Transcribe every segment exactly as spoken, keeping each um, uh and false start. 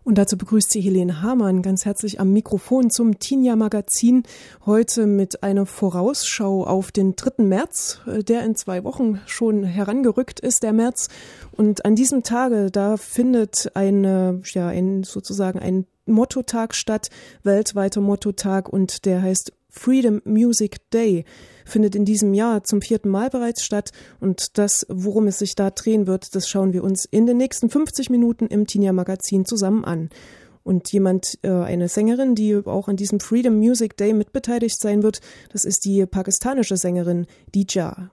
Und dazu begrüßt sie Helene Hamann ganz herzlich am Mikrofon zum Tinja Magazin. Heute mit einer Vorausschau auf den dritten März, der in zwei Wochen schon herangerückt ist, der März. Und an diesem Tage, da findet eine, ja, ein, sozusagen ein Mottotag statt, weltweiter Mottotag, und der heißt Freedom Music Day, findet in diesem Jahr zum vierten Mal bereits statt, und das, worum es sich da drehen wird, das schauen wir uns in den nächsten fünfzig Minuten im Tinja Magazin zusammen an. Und jemand, äh, eine Sängerin, die auch an diesem Freedom Music Day mitbeteiligt sein wird, das ist die pakistanische Sängerin Dija.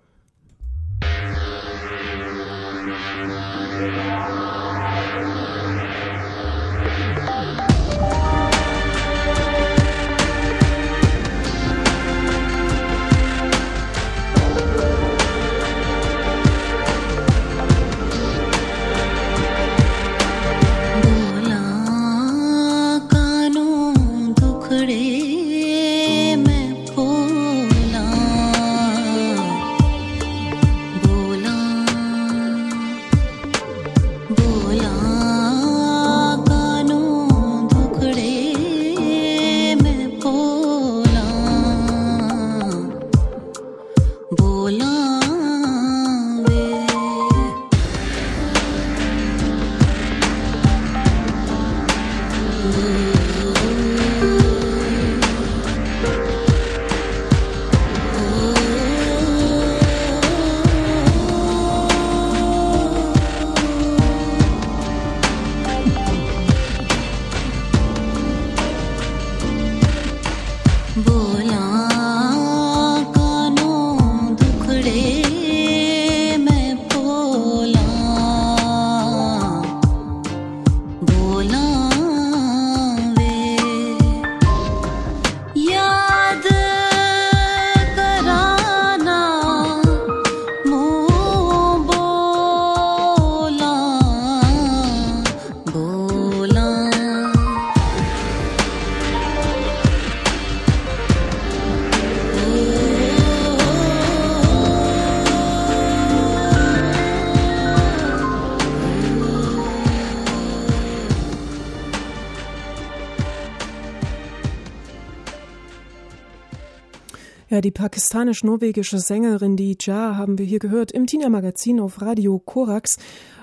Ja, die pakistanisch-norwegische Sängerin Dija haben wir hier gehört im Tinja Magazin auf Radio Korax.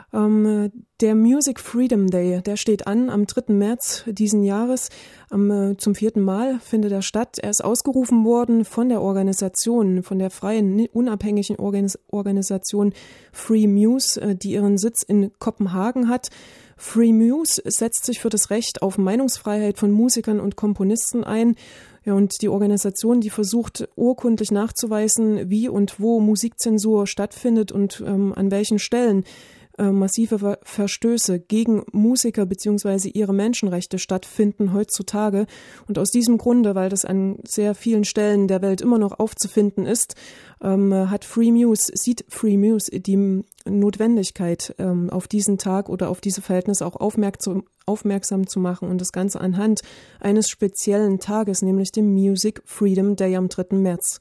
Ähm, der Music Freedom Day, der steht an am dritten März diesen Jahres. Ähm, zum vierten Mal findet er statt. Er ist ausgerufen worden von der Organisation, von der freien, unabhängigen Organis- Organisation Free Muse, äh, die ihren Sitz in Kopenhagen hat. Free Muse setzt sich für das Recht auf Meinungsfreiheit von Musikern und Komponisten ein. Ja, und die Organisation, die versucht urkundlich nachzuweisen, wie und wo Musikzensur stattfindet und ähm, an welchen Stellen äh, massive Ver- Verstöße gegen Musiker bzw. ihre Menschenrechte stattfinden heutzutage. Und aus diesem Grunde, weil das an sehr vielen Stellen der Welt immer noch aufzufinden ist, ähm, hat Free Muse, sieht Free Muse die Notwendigkeit, ähm, auf diesen Tag oder auf diese Verhältnisse auch aufmerksam, aufmerksam zu machen, und das Ganze anhand eines speziellen Tages, nämlich dem Music Freedom Day am dritten März.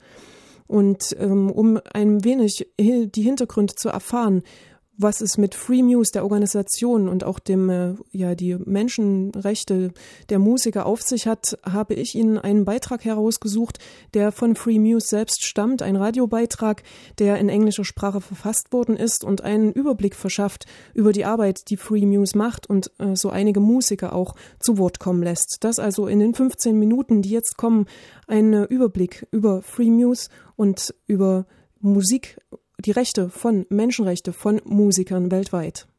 Und ähm, um ein wenig die Hintergründe zu erfahren, was es mit Free Muse, der Organisation, und auch dem, äh, ja, die Menschenrechte der Musiker auf sich hat, habe ich Ihnen einen Beitrag herausgesucht, der von Free Muse selbst stammt, ein Radiobeitrag, der in englischer Sprache verfasst worden ist und einen Überblick verschafft über die Arbeit, die Free Muse macht, und äh, so einige Musiker auch zu Wort kommen lässt. Das also in den fünfzehn Minuten, die jetzt kommen, ein äh, Überblick über Free Muse und über Musik, die Rechte von Menschenrechte von Musikern weltweit.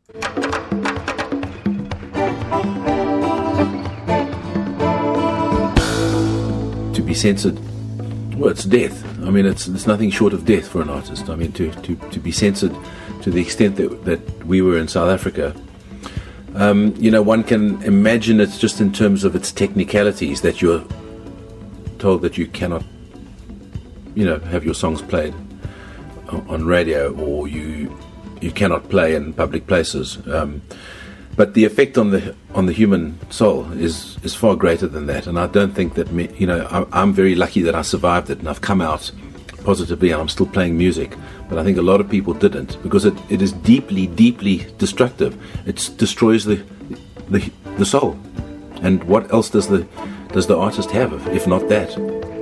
To be censored, well, it's death. I mean, it's it's nothing short of death for an artist. I mean, to to, to be censored to the extent that that we were in South Africa. Um, you know, one can imagine it's just in terms of its technicalities that you're told that you cannot, you know, have your songs played on radio, or you you cannot play in public places. Um, but the effect on the on the human soul is is far greater than that. And I don't think that me, you know, I, I'm very lucky that I survived it and I've come out positively and I'm still playing music. But I think a lot of people didn't, because it, it is deeply, deeply destructive. It destroys the the the soul. And what else does the does the artist have if not that?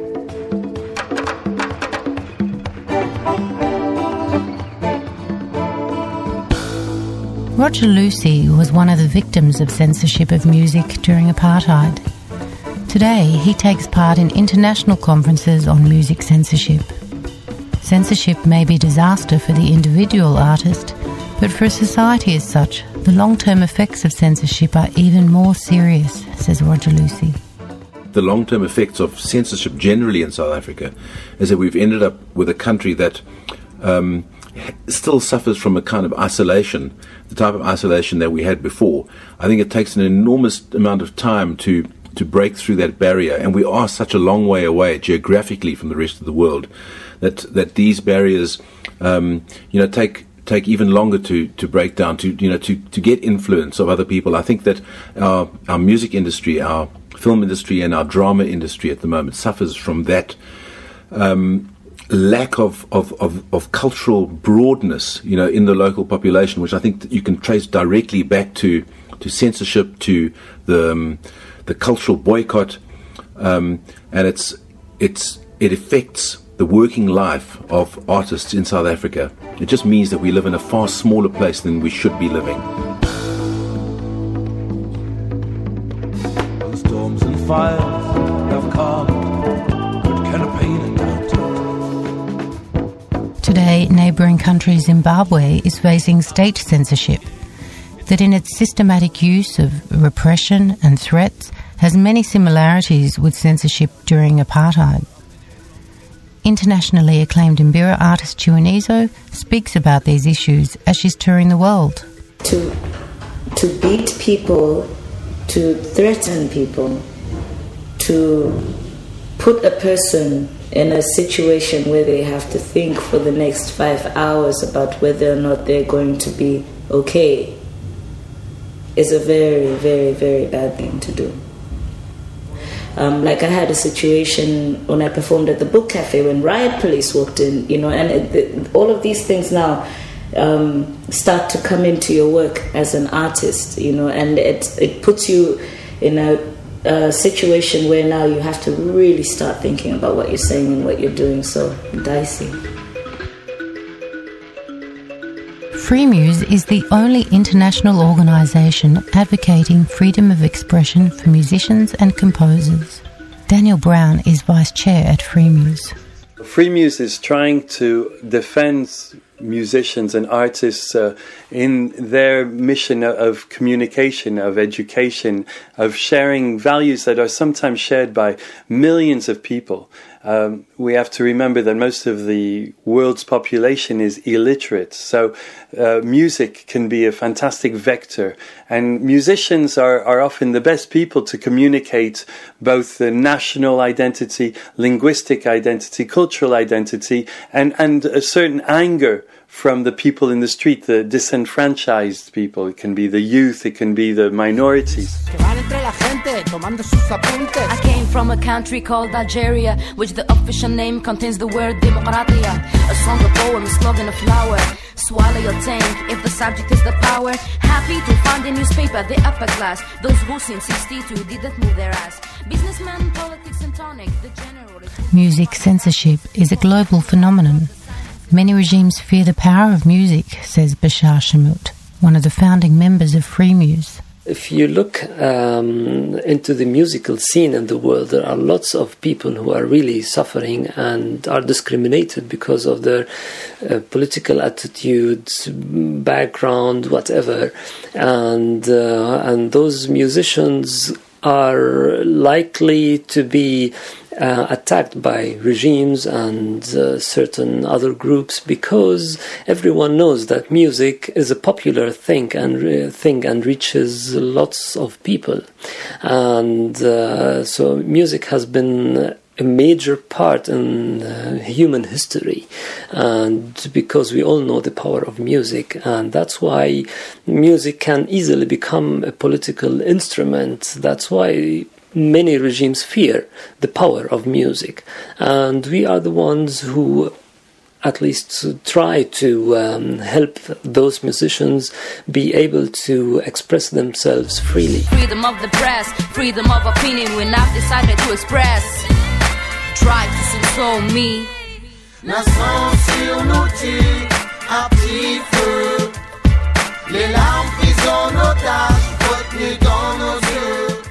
Roger Lucy was one of the victims of censorship of music during apartheid. Today, he takes part in international conferences on music censorship. Censorship may be a disaster for the individual artist, but for a society as such, the long-term effects of censorship are even more serious, says Roger Lucy. The long-term effects of censorship generally in South Africa is that we've ended up with a country that um, still suffers from a kind of isolation, the type of isolation that we had before. I think it takes an enormous amount of time to to break through that barrier, and we are such a long way away geographically from the rest of the world that that these barriers, um, you know, take take even longer to, to break down, to you know, to, to get influence of other people. I think that our our music industry, our film industry, and our drama industry at the moment suffers from that um, lack of, of, of, of cultural broadness, you know, in the local population, which I think that you can trace directly back to to censorship, to the um, the cultural boycott, um, and it's it's it affects the working life of artists in South Africa. It just means that we live in a far smaller place than we should be living. Storms and fires have come, good campaign and doubt. Today, neighbouring country Zimbabwe is facing state censorship that in its systematic use of repression and threats has many similarities with censorship during apartheid. Internationally acclaimed Mbira artist Chiwinizo speaks about these issues as she's touring the world. To, to beat people, to threaten people, to put a person in a situation where they have to think for the next five hours about whether or not they're going to be okay is a very, very, very bad thing to do. Um, like I had a situation when I performed at the Book Cafe when riot police walked in, you know, and it, it, all of these things now um, start to come into your work as an artist, you know, and it it puts you in a, a situation where now you have to really start thinking about what you're saying and what you're doing. So dicey. Freemuse is the only international organisation advocating freedom of expression for musicians and composers. Daniel Brown is vice chair at Freemuse. Freemuse is trying to defend musicians and artists uh, in their mission of communication, of education, of sharing values that are sometimes shared by millions of people. Um, we have to remember that most of the world's population is illiterate, so uh, music can be a fantastic vector, and musicians are, are often the best people to communicate both the national identity, linguistic identity, cultural identity, and, and a certain anger from the people in the street, the disenfranchised people. It can be the youth, it can be the minorities. I came from a country called Algeria, which the official name contains the word Demokratia. A song, a poem, a slogan, a flower. Swallow your tank if the subject is the power. Happy to find a newspaper, the upper class. Those who since sixty-two didn't move their ass. Businessmen, politics and tonic, the general... Music censorship is a global phenomenon. Many regimes fear the power of music, says Bashar Shamut, one of the founding members of Freemuse. If you look um, into the musical scene in the world, there are lots of people who are really suffering and are discriminated because of their uh, political attitudes, background, whatever. And, uh, and those musicians are likely to be uh, attacked by regimes and uh, certain other groups, because everyone knows that music is a popular thing and uh, thing and reaches lots of people, and uh, so music has been a major part in uh, human history, and because we all know the power of music, and that's why music can easily become a political instrument. That's why many regimes fear the power of music, and we are the ones who at least to try to um, help those musicians be able to express themselves freely. Freedom of the press, freedom of opinion, when I've decided to express. Try to console me. Nation sur nos tirs, à petit feu. Les larmes prises en otage, retenues dans nos yeux.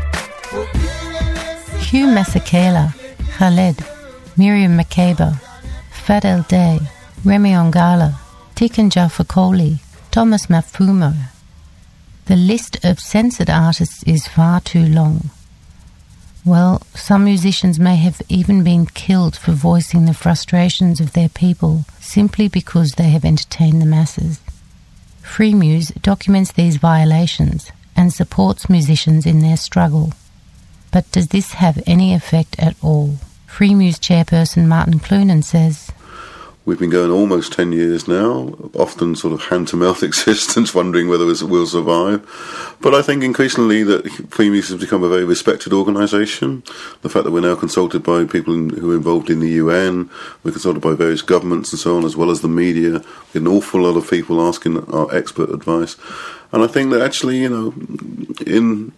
Hugh Masekela, Khaled, Miriam Makeba, Fadel Day, Remy Ongala, Tiken Jah Fakoly, Thomas Mafumo. The list of censored artists is far too long. Well, some musicians may have even been killed for voicing the frustrations of their people simply because they have entertained the masses. Freemuse documents these violations and supports musicians in their struggle. But does this have any effect at all? Freemuse chairperson Martin Clunan says, we've been going almost ten years now, often sort of hand-to-mouth existence, wondering whether we'll survive. But I think increasingly that Freemuse has become a very respected organisation. The fact that we're now consulted by people in, who are involved in the U N, we're consulted by various governments and so on, as well as the media, an awful lot of people asking our expert advice. And I think that actually, you know, in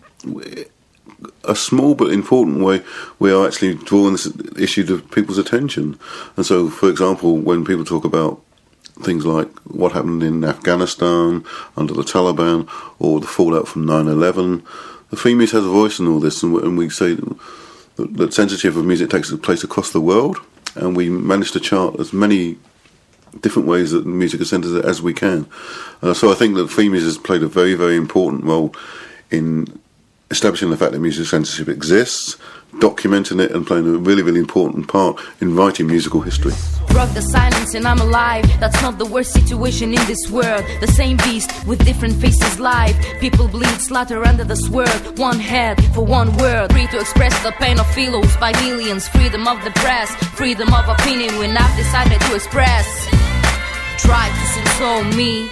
a small but important way, we are actually drawing this issue to people's attention. And so, for example, when people talk about things like what happened in Afghanistan under the Taliban or the fallout from nine eleven, the Freemuse has a voice in all this, and, and we say that, that censorship of music takes place across the world, and we manage to chart as many different ways that music is censored as we can. Uh, so I think that Freemuse has played a very, very important role in establishing the fact that music censorship exists, documenting it, and playing a really, really important part in writing musical history. Broke the silence and I'm alive. That's not the worst situation in this world. The same beast with different faces live. People bleed, slaughter under the sword. One head for one word. Free to express the pain of fellows by millions. Freedom of the press, freedom of opinion when I've decided to express. Try to console me.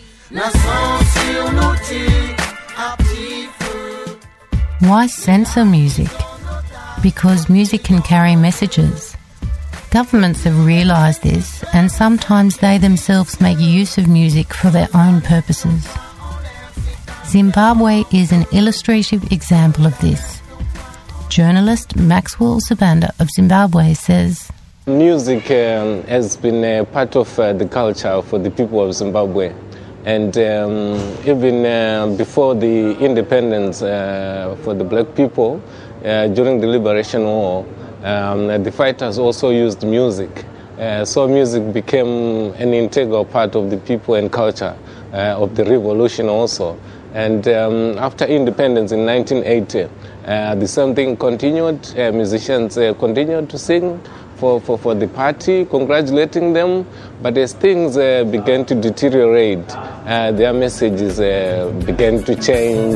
Why censor music? Because music can carry messages. Governments have realised this, and sometimes they themselves make use of music for their own purposes. Zimbabwe is an illustrative example of this. Journalist Maxwell Sabanda of Zimbabwe says, music um, has been a part of uh, the culture for the people of Zimbabwe. And um, even uh, before the independence uh, for the black people, uh, during the Liberation War, um, the fighters also used music. Uh, so music became an integral part of the people and culture uh, of the revolution also. And um, after independence in nineteen eighty, uh, the same thing continued. Uh, musicians uh, continued to sing For, for, for the party, congratulating them, but as things uh, began to deteriorate, uh, their messages uh, began to change.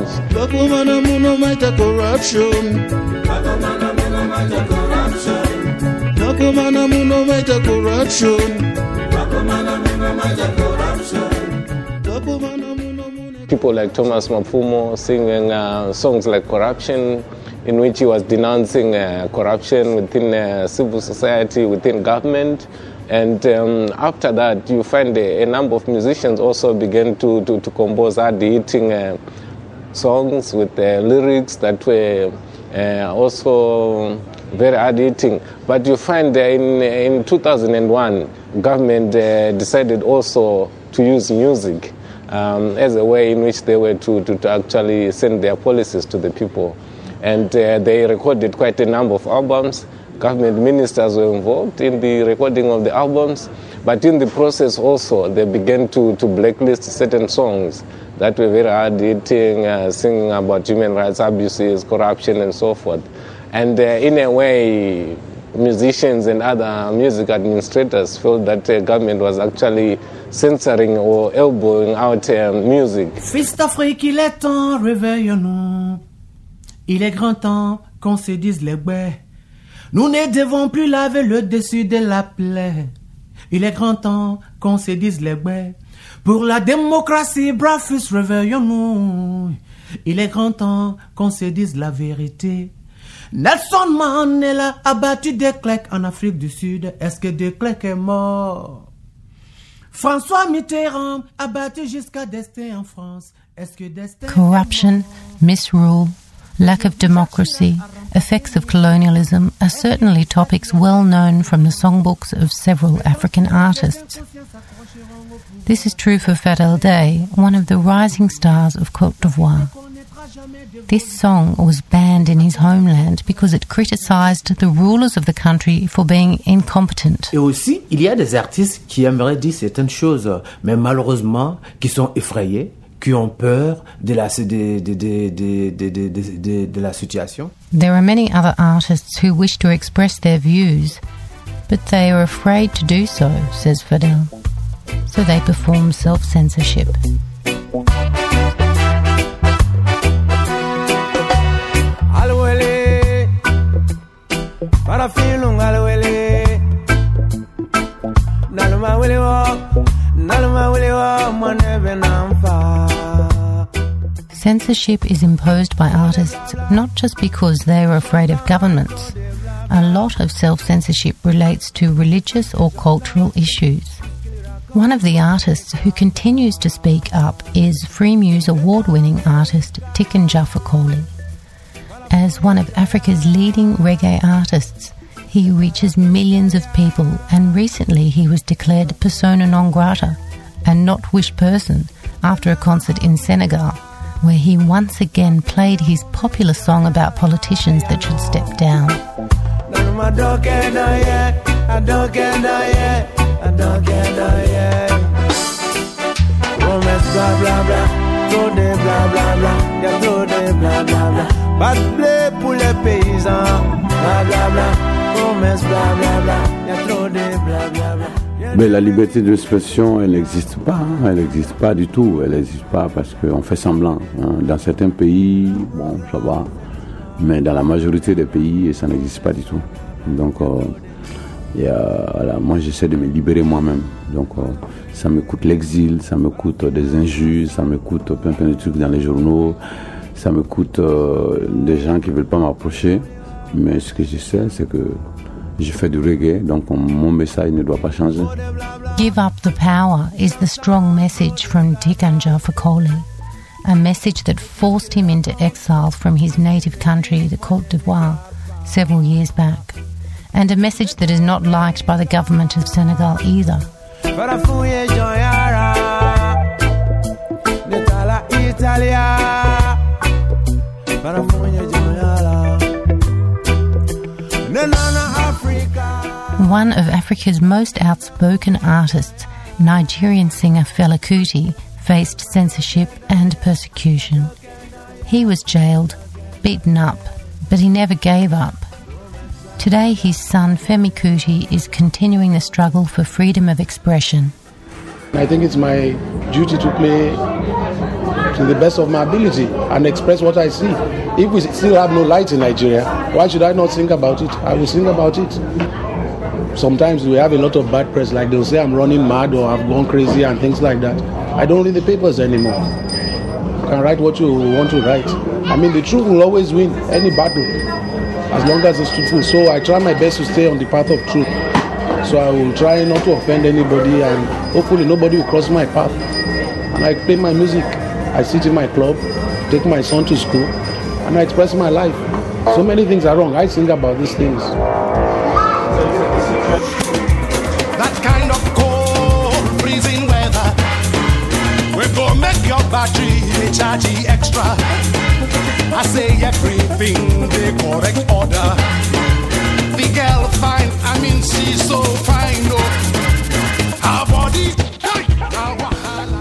People like Thomas Mafumo singing uh, songs like Corruption, in which he was denouncing uh, corruption within uh, civil society, within government. And um, after that, you find a, a number of musicians also began to, to, to compose hard-hitting uh, songs with uh, lyrics that were uh, also very hard-hitting. But you find uh, in, in two thousand one, government uh, decided also to use music um, as a way in which they were to, to, to actually send their policies to the people. And uh, they recorded quite a number of albums. Government ministers were involved in the recording of the albums, but in the process also they began to, to blacklist certain songs that were very hard-hitting, uh, singing about human rights abuses, corruption, and so forth. And uh, in a way, musicians and other music administrators felt that the uh, government was actually censoring or elbowing out uh, music. Fils d'Afrique, il est temps, réveillons-nous. Il est grand temps qu'on se dise les baies. Nous ne devons plus laver le dessus de la plaie. Il est grand temps qu'on se dise les baies. Pour la démocratie, braves fils, réveillons-nous. Il est grand temps qu'on se dise la vérité. Nelson Mandela a battu de Klerk en Afrique du Sud. Est-ce que de Klerk est mort? François Mitterrand a battu jusqu'à Destin en France. Est-ce que Destin Corruption, misrule, lack of democracy, effects of colonialism are certainly topics well known from the songbooks of several African artists. This is true for Fadel Day, one of the rising stars of Côte d'Ivoire. This song was banned in his homeland because it criticised the rulers of the country for being incompetent. Et aussi, il y a des artistes qui aimeraient dire certaines choses, mais malheureusement, qui sont effrayés, qui ont peur de la, de, de, de, de, de, de, de, de la situation. There are many other artists who wish to express their views, but they are afraid to do so, says Fadel. So they perform self-censorship. Censorship is imposed by artists not just because they are afraid of governments. A lot of self-censorship relates to religious or cultural issues. One of the artists who continues to speak up is Freemuse award-winning artist Tiken Jah Fakoly. As one of Africa's leading reggae artists, he reaches millions of people, and recently he was declared persona non grata, a not wished person, after a concert in Senegal, where he once again played his popular song about politicians that should step down. Mais la liberté d'expression, elle n'existe pas, hein, elle n'existe pas du tout, elle n'existe pas parce qu'on fait semblant. Hein. Dans certains pays, bon, ça va, mais dans la majorité des pays, ça n'existe pas du tout. Donc, euh, et, euh, voilà, moi, j'essaie de me libérer moi-même. Donc, euh, ça me coûte l'exil, ça me coûte des injures, ça me coûte plein, plein de trucs dans les journaux, ça me coûte euh, des gens qui ne veulent pas m'approcher. Mais ce que je sais, c'est que je fais du reggae, donc mon message ne doit pas changer. Give up the power is the strong message from Tiken Jah Fakoly, a message that forced him into exile from his native country, the Côte d'Ivoire, several years back, and a message that is not liked by the government of Senegal either. One of Africa's most outspoken artists, Nigerian singer Fela Kuti, faced censorship and persecution. He was jailed, beaten up, but he never gave up. Today his son Femi Kuti is continuing the struggle for freedom of expression. I think it's my duty to play to the best of my ability and express what I see. If we still have no light in Nigeria, why should I not think about it? I will think about it. Sometimes we have a lot of bad press, like they'll say I'm running mad or I've gone crazy and things like that. I don't read the papers anymore. You can write what you want to write. I mean, the truth will always win any battle, as long as it's truthful. So I try my best to stay on the path of truth. So I will try not to offend anybody, and hopefully nobody will cross my path. And I play my music. I sit in my club, take my son to school, and I express my life. So many things are wrong. I think about these things. That kind of cold, freezing weather, we're gonna make your battery recharge extra. I say everything the correct order. The girl fine, I mean she's so fine, no. Her body, hey, her wahala.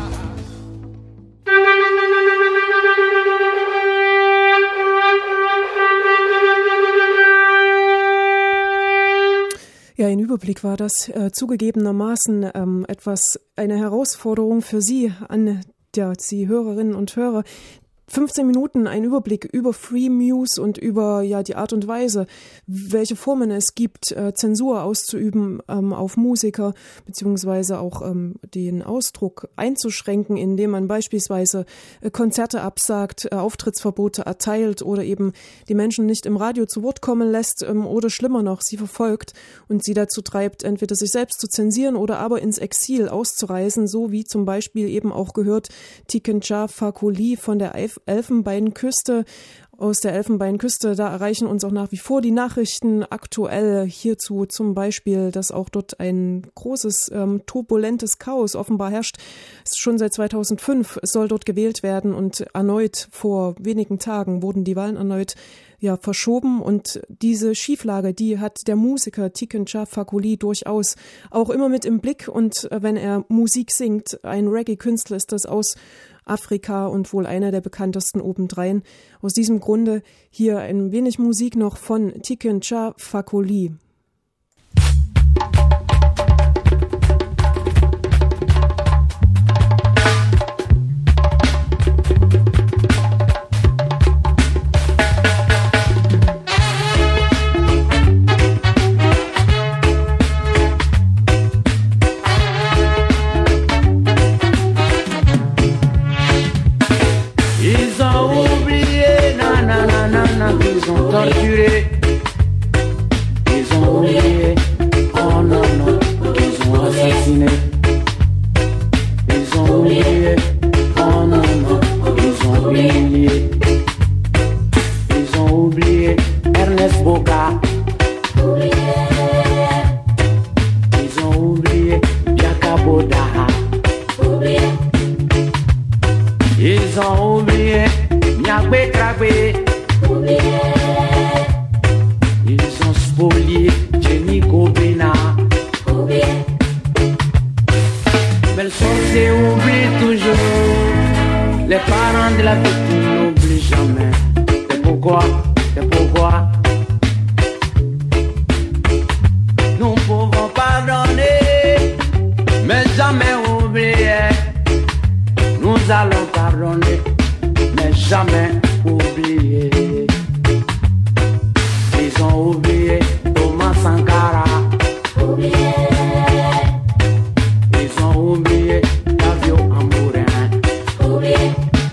Ja, ein Überblick war das äh, zugegebenermaßen ähm, etwas, eine Herausforderung für Sie, an ja, Sie Hörerinnen und Hörer, fünfzehn Minuten ein Überblick über Free Muse und über ja die Art und Weise, welche Formen es gibt, äh, Zensur auszuüben ähm, auf Musiker, beziehungsweise auch ähm, den Ausdruck einzuschränken, indem man beispielsweise äh, Konzerte absagt, äh, Auftrittsverbote erteilt oder eben die Menschen nicht im Radio zu Wort kommen lässt ähm, oder schlimmer noch, sie verfolgt und sie dazu treibt, entweder sich selbst zu zensieren oder aber ins Exil auszureisen, so wie zum Beispiel eben auch gehört Tiken Jah Fakoly von der Elfenbeinküste. Aus der Elfenbeinküste, da erreichen uns auch nach wie vor die Nachrichten aktuell hierzu, zum Beispiel, dass auch dort ein großes, ähm, turbulentes Chaos offenbar herrscht. Schon seit zweitausendfünf soll dort gewählt werden und erneut vor wenigen Tagen wurden die Wahlen erneut ja verschoben und diese Schieflage, die hat der Musiker Tiken Jah Fakoly durchaus auch immer mit im Blick und wenn er Musik singt, ein Reggae-Künstler ist das aus Afrika und wohl einer der bekanntesten obendrein. Aus diesem Grunde hier ein wenig Musik noch von Tiken Jah Fakoly. Torturé, ils ont oublié, oh non non, ils ont assassiné, ils ont oublié, oh non non, ils ont humilié, ils ont oublié Ernest Boca, ils ont oublié Jacobo Daha, ils ont oublié Nyakwe Krabwe. Ils ont spolié Jenny Kobina. Mais le sorcier oublie toujours. Les parents de la victime n'oublient jamais. C'est pourquoi, c'est pourquoi nous pouvons pardonner, mais jamais oublier. Nous allons pardonner, mais jamais oublier. Ils ont oublié Thomas Sankara. Oublié. Ils ont oublié Davio Ambourin. Oublié.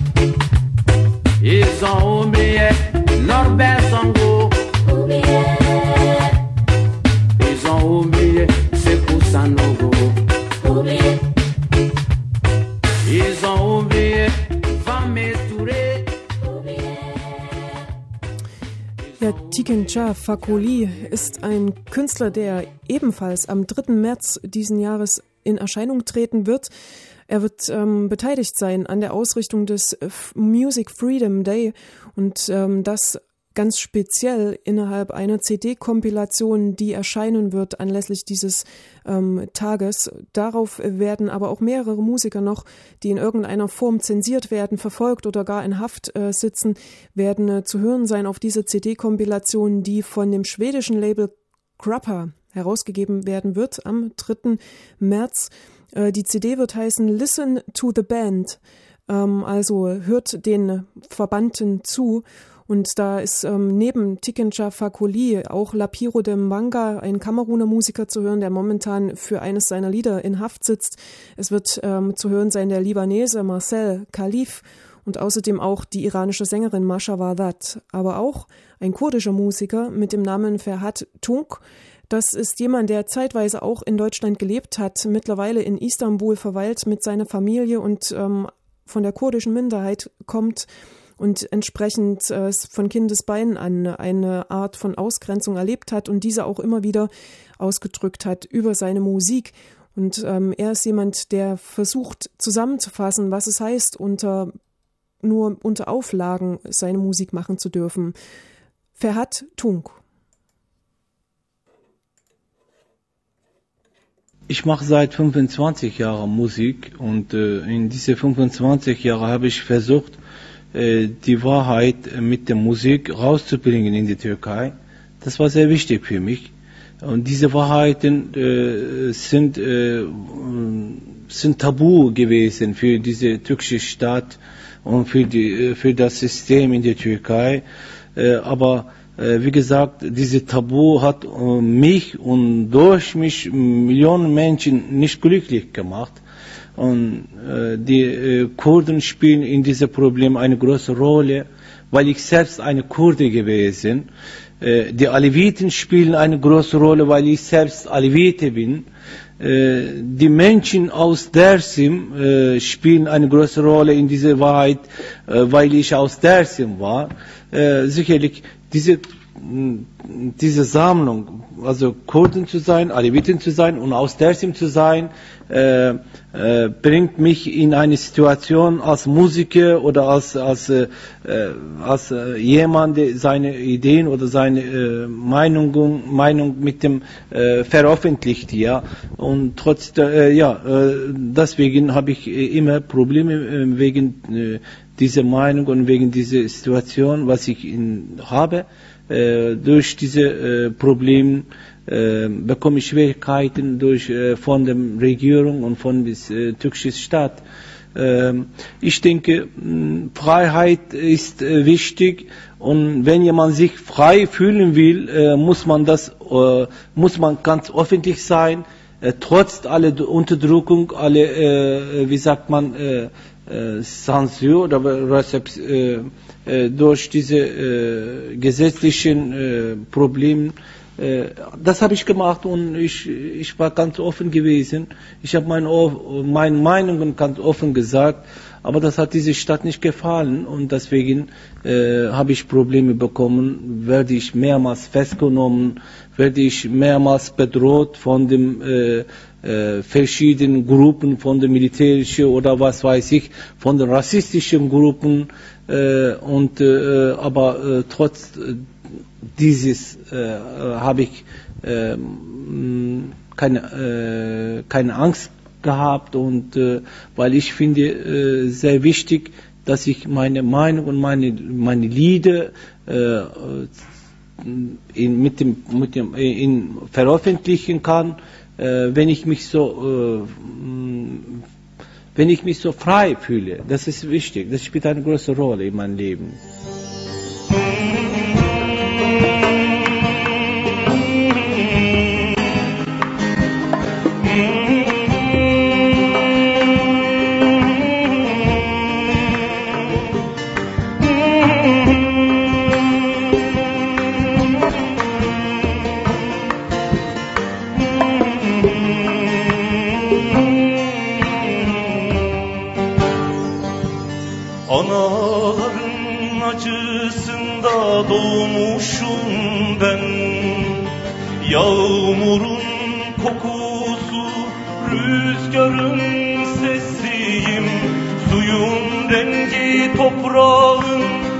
Ils ont oublié Norbert Songo. Oublié. Ils ont oublié Sekou Sanogo. Oublié. Ils ont oublié Famé Touré. Ja, Tiken Jah Fakoly ist ein Künstler, der ebenfalls am dritten März diesen Jahres in Erscheinung treten wird. Er wird ähm, beteiligt sein an der Ausrichtung des Music Freedom Day und ähm, das ganz speziell innerhalb einer C D-Kompilation, die erscheinen wird anlässlich dieses ähm, Tages. Darauf werden aber auch mehrere Musiker noch, die in irgendeiner Form zensiert werden, verfolgt oder gar in Haft äh, sitzen, werden äh, zu hören sein auf dieser C D-Kompilation, die von dem schwedischen Label Grappa herausgegeben werden wird am dritten März. Äh, die C D wird heißen Listen to the Band, ähm, also hört den Verbannten zu. Und da ist ähm, neben Tiken Jah Fakoly auch Lapiro de Mbanga, ein Kameruner Musiker, zu hören, der momentan für eines seiner Lieder in Haft sitzt. Es wird ähm, zu hören sein der Libanese Marcel Khalif und außerdem auch die iranische Sängerin Masha Wadat. Aber auch ein kurdischer Musiker mit dem Namen Ferhat Tunç. Das ist jemand, der zeitweise auch in Deutschland gelebt hat, mittlerweile in Istanbul verweilt mit seiner Familie und ähm, von der kurdischen Minderheit kommt und entsprechend äh, von Kindesbeinen an eine Art von Ausgrenzung erlebt hat und diese auch immer wieder ausgedrückt hat über seine Musik. Und ähm, er ist jemand, der versucht zusammenzufassen, was es heißt, unter nur unter Auflagen seine Musik machen zu dürfen. Ferhat Tunç. Ich mache seit fünfundzwanzig Jahren Musik und äh, in diese fünfundzwanzig Jahre habe ich versucht, die Wahrheit mit der Musik rauszubringen in die Türkei. Das war sehr wichtig für mich. Und diese Wahrheiten äh, sind, äh, sind tabu gewesen für diese türkische Staat und für, die, für das System in der Türkei. Aber wie gesagt, diese Tabu hat mich und durch mich Millionen Menschen nicht glücklich gemacht. Und die Kurden spielen in diesem Problem eine große Rolle, weil ich selbst eine Kurde gewesen bin. Die Aleviten spielen eine große Rolle, weil ich selbst Alevite bin. Die Menschen aus Dersim äh, spielen eine große Rolle in dieser Wahrheit, äh, weil ich aus Dersim war. Äh, sicherlich diese, diese Sammlung, also Kurden zu sein, Aleviten zu sein und aus Dersim zu sein, äh, äh, bringt mich in eine Situation als Musiker oder als, als, äh, als äh, jemand, der seine Ideen oder seine äh, Meinung, Meinung mit dem äh, veröffentlicht, ja. Und trotz der, äh, ja, äh, deswegen habe ich äh, immer Probleme äh, wegen äh, dieser Meinung und wegen dieser Situation, was ich in, habe. Äh, durch diese äh, Probleme äh, bekomme ich Schwierigkeiten durch, äh, von der Regierung und von der äh, türkischen Staat. Äh, ich denke, mh, Freiheit ist äh, wichtig und wenn jemand sich frei fühlen will, äh, muss man das, äh, muss man ganz öffentlich sein, äh, trotz aller Unterdrückung, alle, äh, wie sagt man, äh, äh, Zensur oder Rezept, äh, durch diese äh, gesetzlichen äh, Probleme. Äh, das habe ich gemacht und ich, ich war ganz offen gewesen. Ich habe meine, meine Meinungen ganz offen gesagt, aber das hat diese Stadt nicht gefallen und deswegen äh, habe ich Probleme bekommen, werde ich mehrmals festgenommen, werde ich mehrmals bedroht von den äh, äh, verschiedenen Gruppen, von den militärischen oder was weiß ich, von den rassistischen Gruppen. Äh, und äh, aber äh, trotz äh, dieses äh, habe ich äh, keine äh, keine Angst gehabt und äh, weil ich finde äh, sehr wichtig, dass ich meine Meinung und meine meine Lieder äh, in, mit dem mit dem in veröffentlichen kann, äh, wenn ich mich so äh, wenn ich mich so frei fühle. Das ist wichtig. Das spielt eine große Rolle in meinem Leben. Anaların acısında doğmuşum ben. Yağmurun kokusu, rüzgarın sesiyim. Suyun rengi toprağın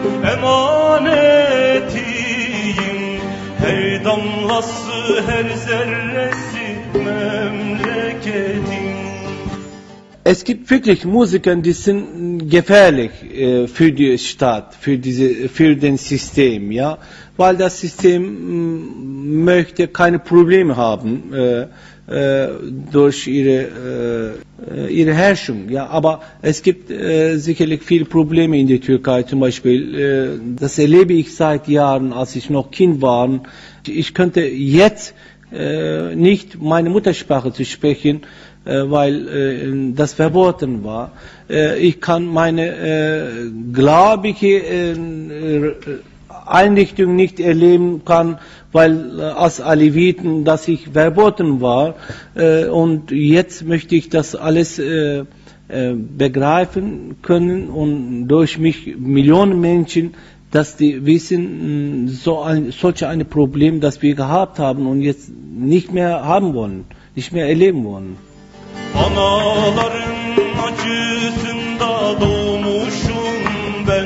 emanetiyim. Her damlası, her zerresi memleketim. Es gibt wirklich Musiker, die sind gefährlich äh, für die Stadt, für diese, für den System, ja, weil das System m, möchte keine Probleme haben äh, äh, durch ihre äh, ihre Herrschung, ja, aber es gibt äh, sicherlich viele Probleme in der Türkei, zum Beispiel, äh, das erlebe ich seit Jahren, als ich noch Kind war. Ich könnte jetzt äh, nicht meine Muttersprache zu sprechen, weil äh, das verboten war. Äh, ich kann meine äh, gläubige äh, Einrichtung nicht erleben kann, weil äh, als Aleviten das ich verboten war. Äh, und jetzt möchte ich das alles äh, äh, begreifen können und durch mich Millionen Menschen, dass die wissen, so ein, solch ein Problem, das wir gehabt haben und jetzt nicht mehr haben wollen, nicht mehr erleben wollen. Anaların acısında doğmuşum ben.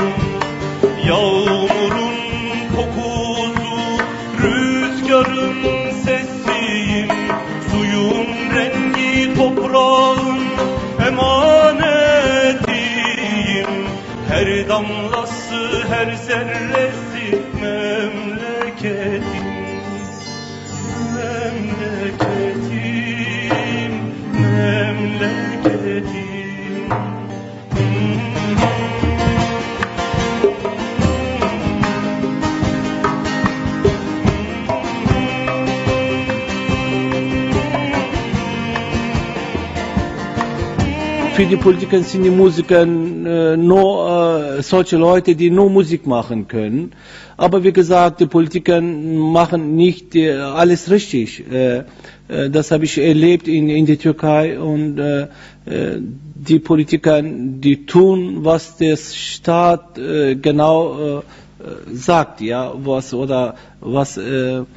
Yağmurun kokusu, rüzgarın sesiyim. Suyun rengi toprağın emanetiyim. Her damlası, her zerresi memleketim. Memleketim. Memleketim. für die Politiker sind die Musiker äh, nur äh, solche Leute, die nur Musik machen können. Aber wie gesagt, die Politiker machen nicht äh, alles richtig. Äh, äh, das habe ich erlebt in, in der Türkei und äh, äh, die Politiker, die tun, was der Staat äh, genau äh, sagt, ja, was oder was äh, äh,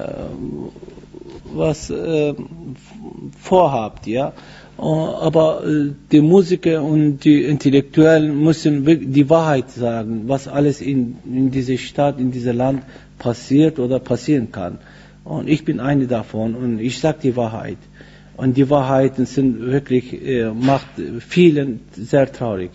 was äh, vorhabt, ja. Aber äh, die Musiker und die Intellektuellen müssen die Wahrheit sagen, was alles in, in dieser Stadt, in diesem Land passiert oder passieren kann. Und ich bin eine davon und ich sage die Wahrheit. Und die Wahrheiten sind wirklich, äh, macht vielen sehr traurig.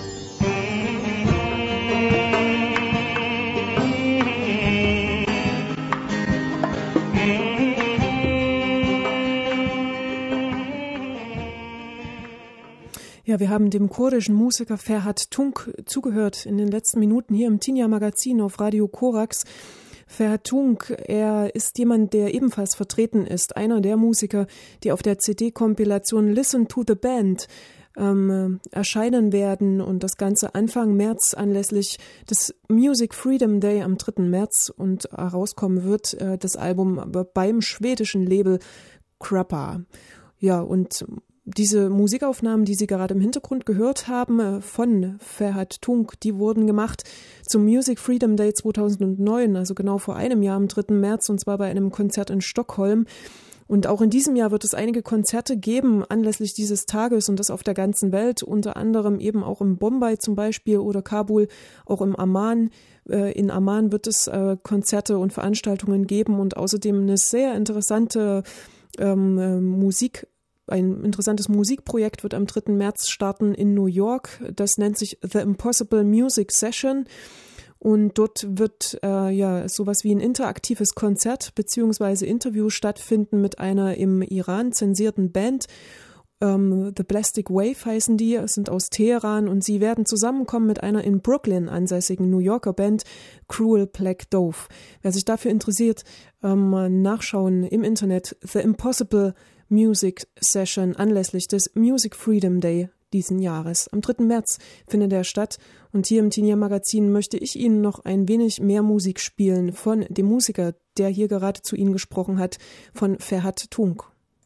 Ja, wir haben dem kurdischen Musiker Ferhat Tunç zugehört in den letzten Minuten hier im Tinja Magazin auf Radio Korax. Ferhat Tunç, er ist jemand, der ebenfalls vertreten ist, einer der Musiker, die auf der C D-Kompilation Listen to the Band ähm, erscheinen werden und das Ganze Anfang März anlässlich des Music Freedom Day am dritten März und herauskommen wird, äh, das Album beim schwedischen Label Krappa. Ja, und diese Musikaufnahmen, die Sie gerade im Hintergrund gehört haben, von Ferhat Tunç, die wurden gemacht zum Music Freedom Day zweitausendneun, also genau vor einem Jahr am dritten März, und zwar bei einem Konzert in Stockholm. Und auch in diesem Jahr wird es einige Konzerte geben anlässlich dieses Tages und das auf der ganzen Welt, unter anderem eben auch in Bombay zum Beispiel oder Kabul, auch im Amman. In Amman wird es Konzerte und Veranstaltungen geben und außerdem eine sehr interessante ähm, Musik Ein interessantes Musikprojekt wird am dritten März starten in New York. Das nennt sich The Impossible Music Session. Und dort wird äh, ja sowas wie ein interaktives Konzert bzw. Interview stattfinden mit einer im Iran zensierten Band. Ähm, The Plastic Wave heißen die, sind aus Teheran und sie werden zusammenkommen mit einer in Brooklyn ansässigen New Yorker Band, Cruel Black Dove. Wer sich dafür interessiert, ähm, nachschauen im Internet. The Impossible Music Session anlässlich des Music Freedom Day diesen Jahres. Am dritten März findet er statt und hier im Tinja Magazin möchte ich Ihnen noch ein wenig mehr Musik spielen von dem Musiker, der hier gerade zu Ihnen gesprochen hat, von Ferhat Tunç.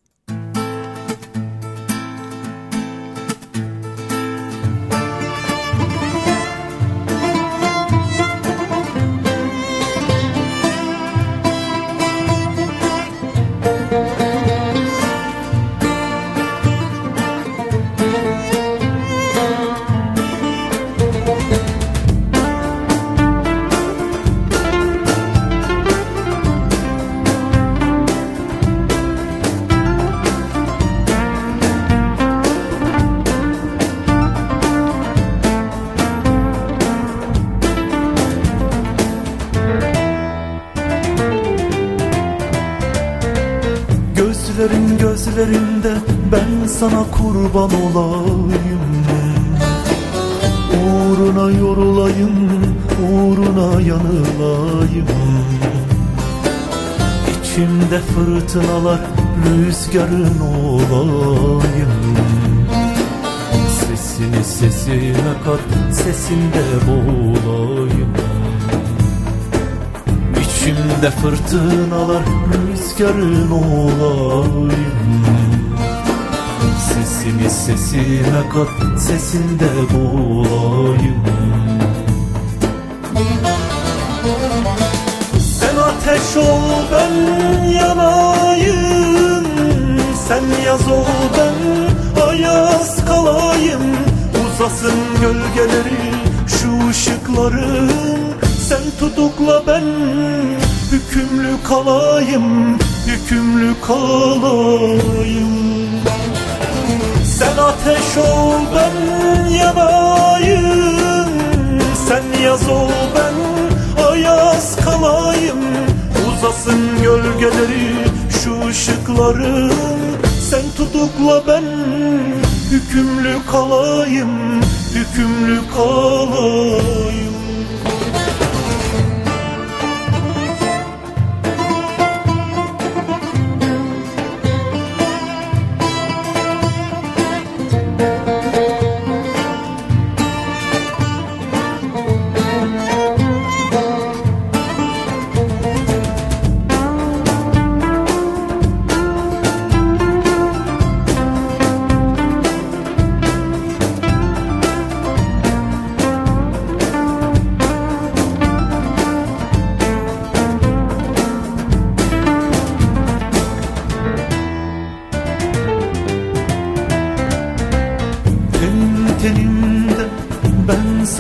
Gözlerin gözlerinde ben sana kurban olayım, uğruna yorulayım, uğruna yanılayım. İçimde fırtınalar rüzgarın olayım. Sesini sesime kat, sesinde boğulayım. İçimde fırtınalar rüzgarın olayım. Sesimi sesime kat, sesinde boğulayım. Sen ateş ol, ben yanayım. Sen yaz ol, ben ayaz kalayım. Uzasın gölgeleri, şu ışıkların. Sen tutukla, ben hükümlü kalayım, hükümlü kalayım. Sen ateş ol, ben yanayım. Sen yaz ol, ben ayaz kalayım. Uzasın gölgeleri, şu ışıkların. Sen tutukla, ben hükümlü kalayım, hükümlü kalayım.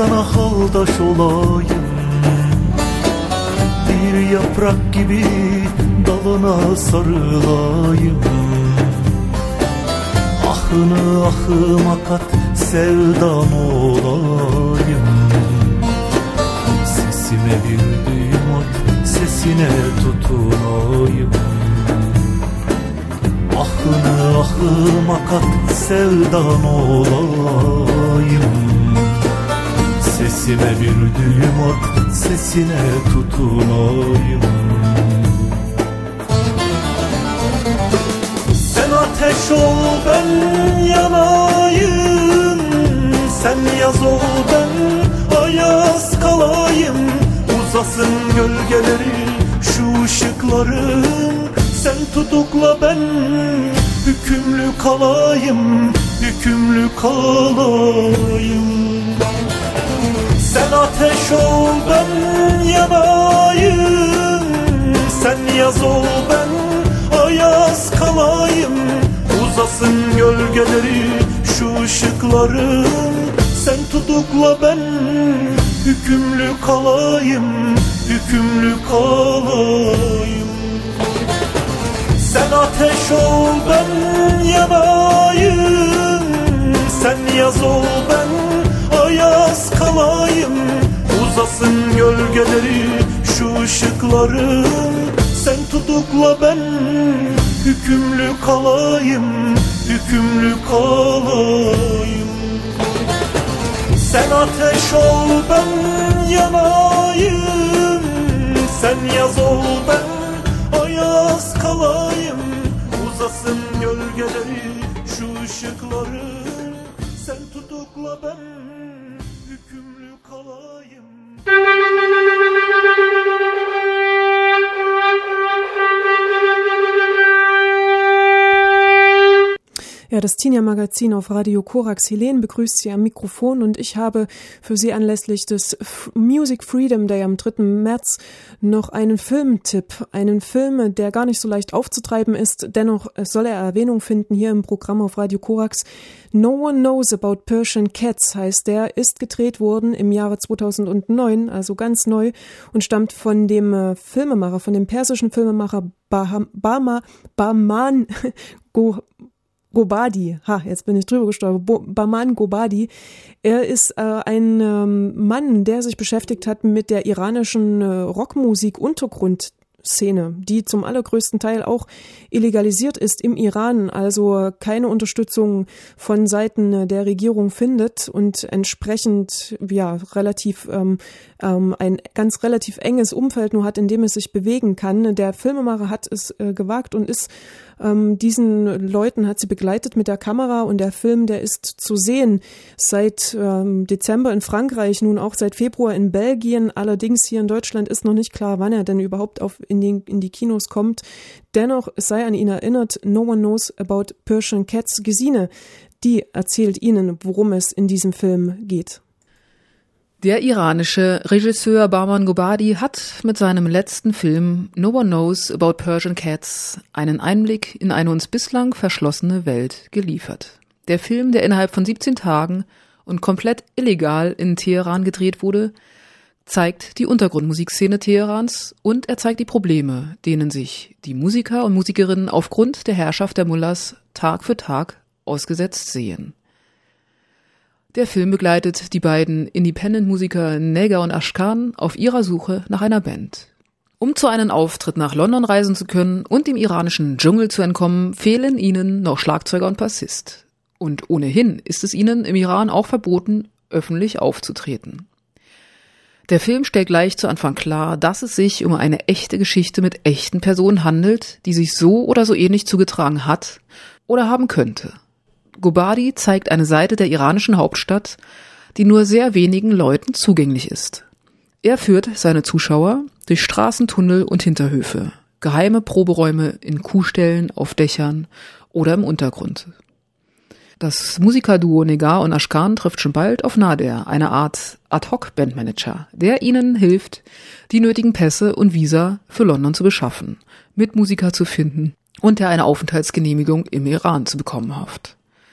sana haldaş olayım. Bir yaprak gibi dalına sarılayım. Ahını ahıma kat sevdan olayım. Sesime bir düğüm at, sesine tutunayım. Ahını ahıma kat sevdan olayım. Sesime bir düğüm at, sesine tutunayım. Sen ateş ol ben yanayım. Sen yaz ol ben ayaz kalayım. Uzasın gölgeleri şu ışıkların. Sen tutukla ben hükümlü kalayım. Hükümlü kalayım. Sen ateş ol ben yanayım. Sen yaz ol ben ayaz kalayım. Uzasın gölgeleri şu ışıkların. Sen tutukla ben hükümlü kalayım. Hükümlü kalayım. Sen ateş ol ben yanayım. Sen yaz ol ben ayaz kalayım. Uzasın gölgeleri şu ışıkların. Sen tutukla ben hükümlü kalayım. Hükümlü kalayım. Sen ateş ol ben yanayım. Sen yaz ol ben ayaz kalayım. Uzasın gölgeleri şu ışıkların. Sen tutukla ben hükümlü kalayım. Ja, das Tinja-Magazin auf Radio Korax. Helene begrüßt Sie am Mikrofon und ich habe für Sie anlässlich des Music Freedom Day am dritten März noch einen Filmtipp. Einen Film, der gar nicht so leicht aufzutreiben ist, dennoch soll er Erwähnung finden hier im Programm auf Radio Korax. No One Knows About Persian Cats heißt der, ist gedreht worden im Jahre zweitausendneun, also ganz neu, und stammt von dem Filmemacher, von dem persischen Filmemacher Baham, Bahma, Bahman Go Gobadi, ha, jetzt bin ich drüber gestolpert, Bahman Gobadi. Er ist äh, ein ähm, Mann, der sich beschäftigt hat mit der iranischen äh, Rockmusik-Untergrundszene, die zum allergrößten Teil auch illegalisiert ist im Iran, also keine Unterstützung von Seiten der Regierung findet und entsprechend ja relativ ähm, ähm, ein ganz relativ enges Umfeld nur hat, in dem es sich bewegen kann. Der Filmemacher hat es äh, gewagt und ist Ähm, diesen Leuten hat sie begleitet mit der Kamera, und der Film, der ist zu sehen seit ähm, Dezember in Frankreich, nun auch seit Februar in Belgien. Allerdings hier in Deutschland ist noch nicht klar, wann er denn überhaupt auf in, den, in die Kinos kommt. Dennoch, es sei an ihn erinnert, No One Knows About Persian Cats. Gesine, die erzählt Ihnen, worum es in diesem Film geht. Der iranische Regisseur Bahman Gobadi hat mit seinem letzten Film No One Knows About Persian Cats einen Einblick in eine uns bislang verschlossene Welt geliefert. Der Film, der innerhalb von siebzehn Tagen und komplett illegal in Teheran gedreht wurde, zeigt die Untergrundmusikszene Teherans und er zeigt die Probleme, denen sich die Musiker und Musikerinnen aufgrund der Herrschaft der Mullahs Tag für Tag ausgesetzt sehen. Der Film begleitet die beiden Independent-Musiker Neger und Ashkan auf ihrer Suche nach einer Band. Um zu einem Auftritt nach London reisen zu können und dem iranischen Dschungel zu entkommen, fehlen ihnen noch Schlagzeuger und Bassist. Und ohnehin ist es ihnen im Iran auch verboten, öffentlich aufzutreten. Der Film stellt gleich zu Anfang klar, dass es sich um eine echte Geschichte mit echten Personen handelt, die sich so oder so ähnlich zugetragen hat oder haben könnte. Gobadi zeigt eine Seite der iranischen Hauptstadt, die nur sehr wenigen Leuten zugänglich ist. Er führt seine Zuschauer durch Straßentunnel und Hinterhöfe, geheime Proberäume in Kuhställen, auf Dächern oder im Untergrund. Das Musikerduo Negar und Ashkan trifft schon bald auf Nader, eine Art Ad-Hoc-Bandmanager, der ihnen hilft, die nötigen Pässe und Visa für London zu beschaffen, Mitmusiker zu finden und der eine Aufenthaltsgenehmigung im Iran zu bekommen hofft.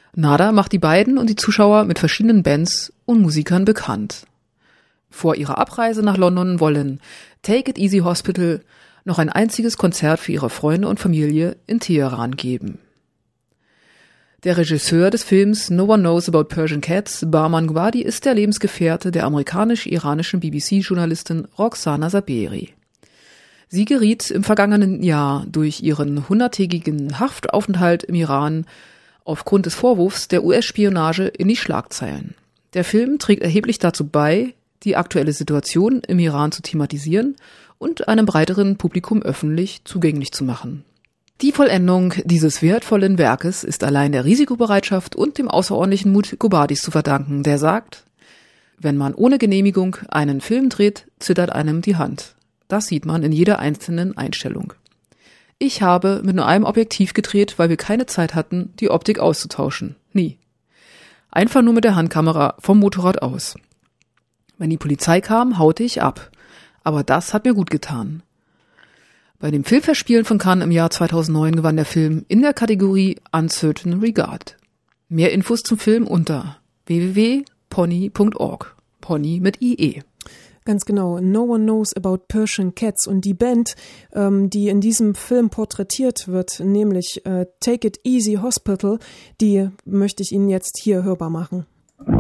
Nada macht die beiden und die Zuschauer mit verschiedenen Bands und Musikern bekannt. Vor ihrer Abreise nach London wollen Take It Easy Hospital noch ein einziges Konzert für ihre Freunde und Familie in Teheran geben. Der Regisseur des Films No One Knows About Persian Cats, Bahman Gobadi, ist der Lebensgefährte der amerikanisch-iranischen B B C-Journalistin Roxana Saberi. Sie geriet im vergangenen Jahr durch ihren hunderttägigen Haftaufenthalt im Iran aufgrund des Vorwurfs der U S-Spionage in die Schlagzeilen. Der Film trägt erheblich dazu bei, die aktuelle Situation im Iran zu thematisieren und einem breiteren Publikum öffentlich zugänglich zu machen. Die Vollendung dieses wertvollen Werkes ist allein der Risikobereitschaft und dem außerordentlichen Mut Gobadis zu verdanken, der sagt: Wenn man ohne Genehmigung einen Film dreht, zittert einem die Hand. Das sieht man in jeder einzelnen Einstellung. Ich habe mit nur einem Objektiv gedreht, weil wir keine Zeit hatten, die Optik auszutauschen. Nie. Einfach nur mit der Handkamera vom Motorrad aus. Wenn die Polizei kam, haute ich ab. Aber das hat mir gut getan. Bei dem Filmfestspielen von Cannes im Jahr zweitausendneun gewann der Film in der Kategorie Uncertain Regard. Mehr Infos zum Film unter w w w punkt pony punkt org. Pony mit I E. Ganz genau. No One Knows About Persian Cats. Und die Band, ähm, die in diesem Film porträtiert wird, nämlich äh, Take It Easy Hospital, die möchte ich Ihnen jetzt hier hörbar machen.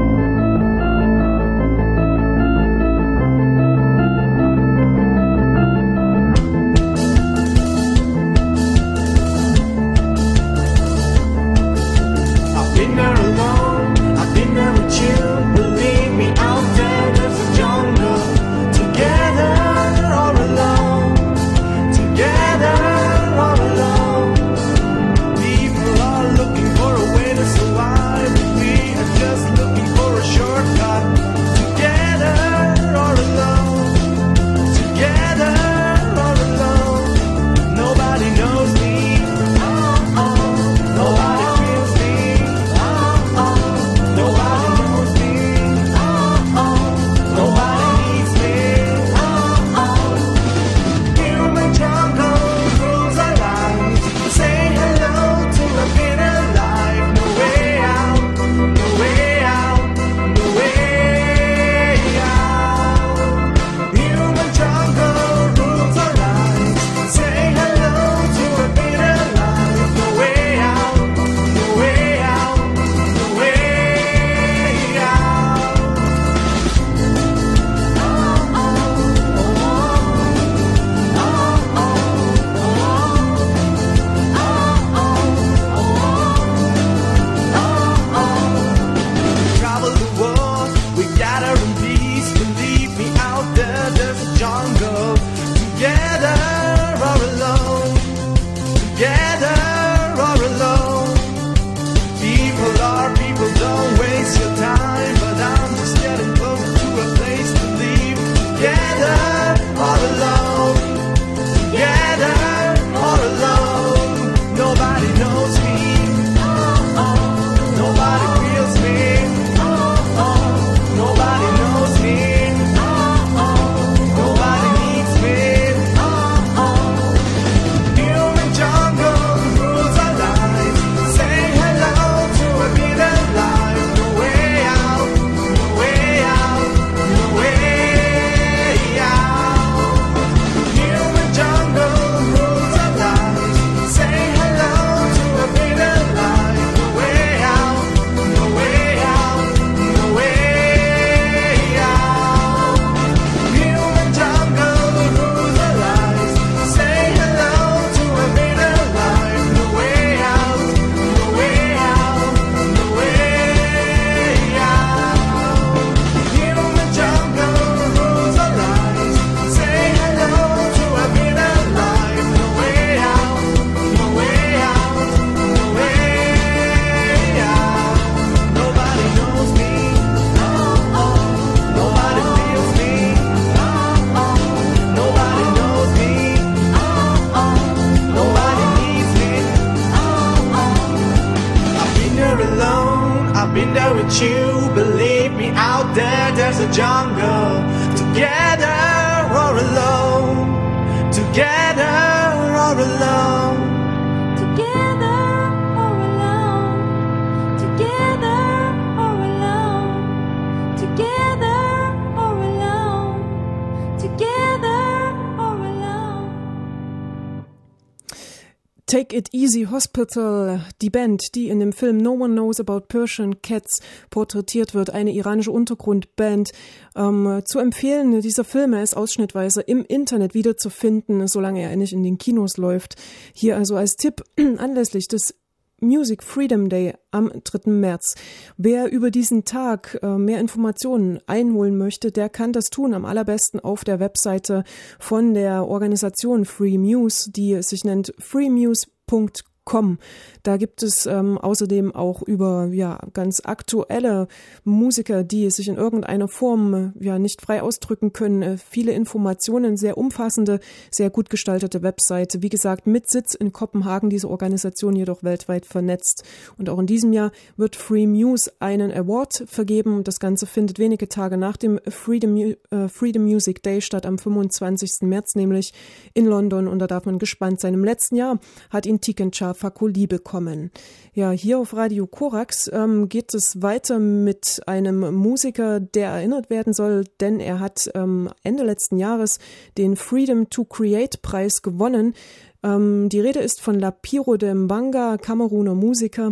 You believe me, out there there's a jungle. Together or alone, together or alone, together or alone, together. Take It Easy Hospital, die Band, die in dem Film No One Knows About Persian Cats porträtiert wird, eine iranische Untergrundband. Ähm, zu empfehlen, dieser Film, er ist ausschnittweise im Internet wiederzufinden, solange er nicht in den Kinos läuft. Hier also als Tipp anlässlich des Music Freedom Day am dritten März. Wer über diesen Tag äh, mehr Informationen einholen möchte, der kann das tun, am allerbesten auf der Webseite von der Organisation Free Muse, die sich nennt freemuse punkt com. Da gibt es ähm, außerdem auch über ja ganz aktuelle Musiker, die sich in irgendeiner Form äh, ja nicht frei ausdrücken können, äh, viele Informationen, sehr umfassende, sehr gut gestaltete Webseite. Wie gesagt, mit Sitz in Kopenhagen, diese Organisation jedoch weltweit vernetzt. Und auch in diesem Jahr wird Free Muse einen Award vergeben. Das Ganze findet wenige Tage nach dem Freedom, äh, Freedom Music Day statt, am fünfundzwanzigsten März nämlich in London. Und da darf man gespannt sein. Im letzten Jahr hat ihn Tiken Jah Fakoly bekommen. Ja, hier auf Radio Korax ähm, geht es weiter mit einem Musiker, der erinnert werden soll, denn er hat ähm, Ende letzten Jahres den Freedom to Create Preis gewonnen. Ähm, die Rede ist von Lapiro Dembanga, Kameruner Musiker,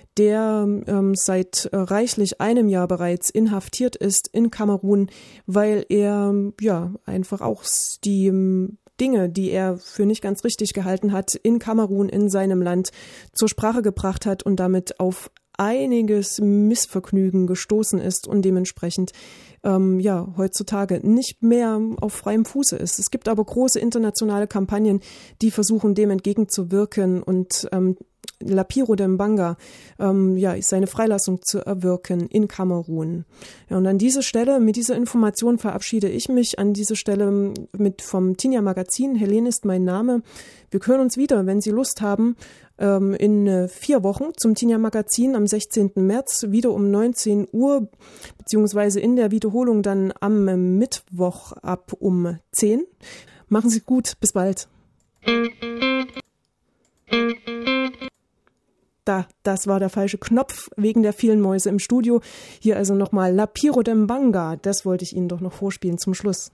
der ähm, seit äh, reichlich einem Jahr bereits inhaftiert ist in Kamerun, weil er ja einfach auch die ähm, Dinge, die er für nicht ganz richtig gehalten hat, in Kamerun, in seinem Land zur Sprache gebracht hat und damit auf einiges Missvergnügen gestoßen ist und dementsprechend ähm, ja heutzutage nicht mehr auf freiem Fuße ist. Es gibt aber große internationale Kampagnen, die versuchen, dem entgegenzuwirken und ähm, Lapiro Dembanga ähm, ja, seine Freilassung zu erwirken in Kamerun. Ja, und an dieser Stelle, mit dieser Information verabschiede ich mich an dieser Stelle mit vom Tinja Magazin. Helene ist mein Name. Wir hören uns wieder, wenn Sie Lust haben, ähm, in äh, vier Wochen zum Tinja Magazin am sechzehnten März, wieder um neunzehn Uhr, beziehungsweise in der Wiederholung dann am äh, Mittwoch ab um zehn. Machen Sie gut, bis bald. Da, das war der falsche Knopf wegen der vielen Mäuse im Studio. Hier also nochmal Lapiro Dembanga. Das wollte ich Ihnen doch noch vorspielen zum Schluss.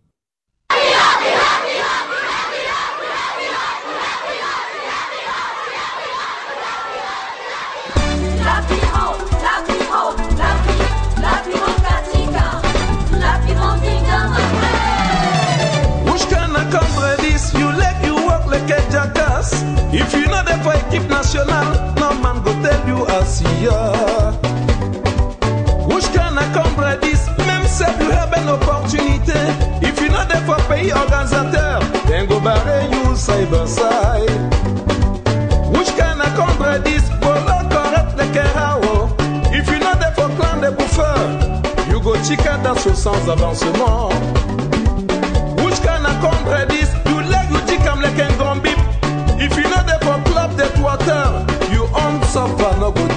If you know the for equipe nationale, no man go tell you as ya. Which can accomplish this? Même si you have an opportunité. If you know the for pays organisateur, then go barre you side by side. Which can accomplish this? Bolo correct the kerao. If you know the for clan de bouffeur, you go chica dans ce sans avancement. Which can accomplish this? You leg you chica like un grand bip. If you know the for club that water, you on suffer no good.